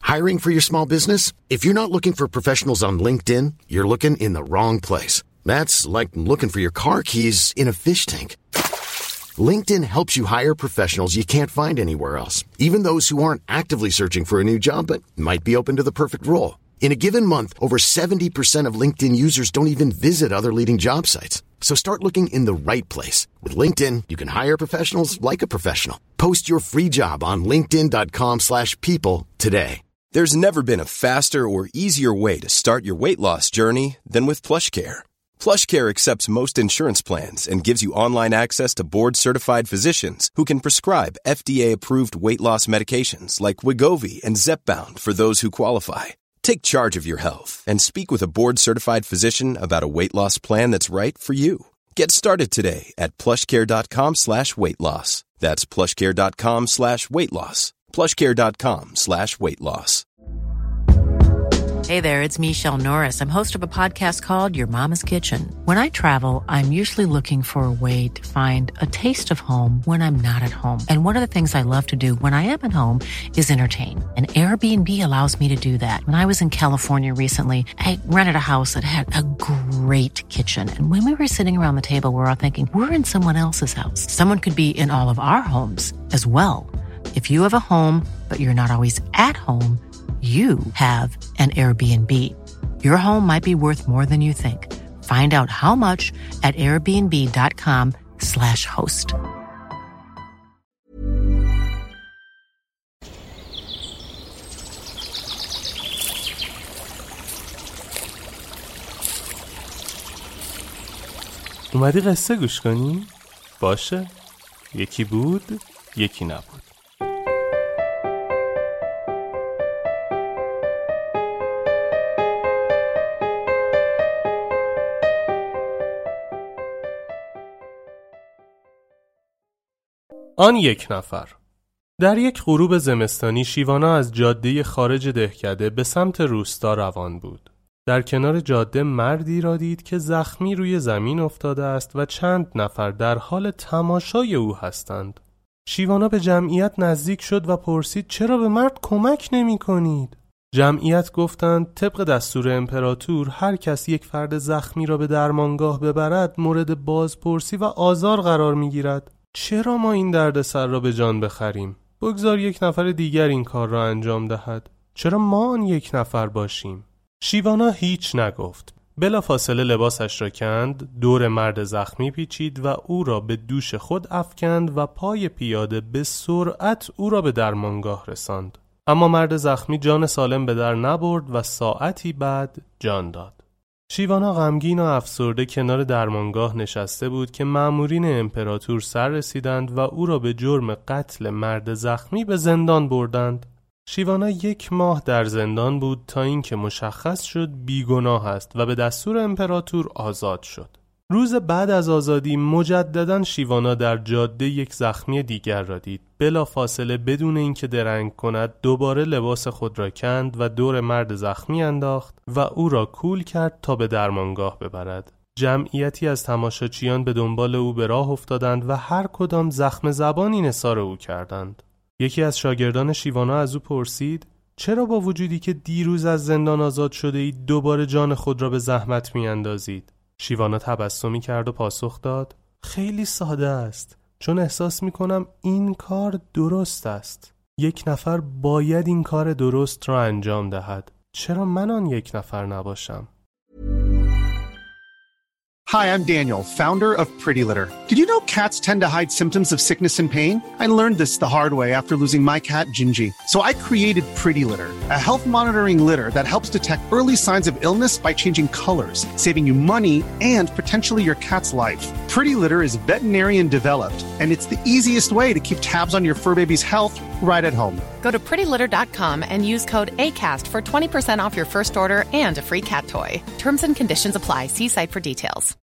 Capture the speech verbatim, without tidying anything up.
Hiring for your small business? If you're not looking for professionals on LinkedIn, you're looking in the wrong place. That's like looking for your car keys in a fish tank. LinkedIn helps you hire professionals you can't find anywhere else, even those who aren't actively searching for a new job but might be open to the perfect role. In a given month, over seventy percent of LinkedIn users don't even visit other leading job sites. So start looking in the right place. With LinkedIn, you can hire professionals like a professional. Post your free job on linkedin.com slash people today. There's never been a faster or easier way to start your weight loss journey than with PlushCare. PlushCare accepts most insurance plans and gives you online access to board-certified physicians who can prescribe F D A-approved weight loss medications like Wegovy and Zepbound for those who qualify. Take charge of your health and speak with a board-certified physician about a weight loss plan that's right for you. Get started today at plushcare.com slash weight loss. That's plushcare.com slash weight loss. plushcare.com slash weight loss. Hey there, it's Michelle Norris. I'm host of a podcast called Your Mama's Kitchen. When I travel, I'm usually looking for a way to find a taste of home when I'm not at home. And one of the things I love to do when I am at home is entertain. And Airbnb allows me to do that. When I was in California recently, I rented a house that had a great kitchen. And when we were sitting around the table, we're all thinking, we're in someone else's house. Someone could be in all of our homes as well. If you have a home, but you're not always at home, you have an Airbnb. Your home might be worth more than you think. Find out how much at airbnb.com slash host. اومدی قصه گوش کنی؟ باشه. یکی بود، یکی نبود. آن یک نفر. در یک غروب زمستانی شیوانا از جاده خارج دهکده به سمت روستا روان بود. در کنار جاده مردی را دید که زخمی روی زمین افتاده است و چند نفر در حال تماشای او هستند. شیوانا به جمعیت نزدیک شد و پرسید چرا به مرد کمک نمی کنید؟ جمعیت گفتند طبق دستور امپراتور هر کس یک فرد زخمی را به درمانگاه ببرد مورد بازپرسی و آزار قرار می گیرد. چرا ما این دردسر را به جان بخریم؟ بگذار یک نفر دیگر این کار را انجام دهد. چرا ما آن یک نفر باشیم؟ شیوانا هیچ نگفت. بلافاصله لباسش را کند، دور مرد زخمی پیچید و او را به دوش خود افکند و پای پیاده به سرعت او را به درمانگاه رساند. اما مرد زخمی جان سالم به در نبرد و ساعتی بعد جان داد. شیوانا غمگین و افسرده کنار درمانگاه نشسته بود که مامورین امپراتور سر رسیدند و او را به جرم قتل مرد زخمی به زندان بردند. شیوانا یک ماه در زندان بود تا اینکه مشخص شد بیگناه است و به دستور امپراتور آزاد شد. روز بعد از آزادی مجدداً شیوانا در جاده یک زخمی دیگر را دید. بلافاصله بدون اینکه درنگ کند دوباره لباس خود را کند و دور مرد زخمی انداخت و او را کول کرد تا به درمانگاه ببرد. جمعیتی از تماشاچیان به دنبال او به راه افتادند و هر کدام زخم زبانی نثار او کردند. یکی از شاگردان شیوانا از او پرسید چرا با وجودی که دیروز از زندان آزاد شده اید دوباره جان خود را به زحمت می اندازید؟ شیوانا تبسمی کرد و پاسخ داد خیلی ساده است، چون احساس می کنم این کار درست است. یک نفر باید این کار درست را انجام دهد. چرا من آن یک نفر نباشم؟ Hi, I'm Daniel, founder of Pretty Litter. Did you know cats tend to hide symptoms of sickness and pain? I learned this the hard way after losing my cat, Gingy. So I created Pretty Litter, a health monitoring litter that helps detect early signs of illness by changing colors, saving you money and potentially your cat's life. Pretty Litter is veterinarian developed, and it's the easiest way to keep tabs on your fur baby's health right at home. Go to pretty litter dot com and use code ACAST for twenty percent off your first order and a free cat toy. Terms and conditions apply. See site for details.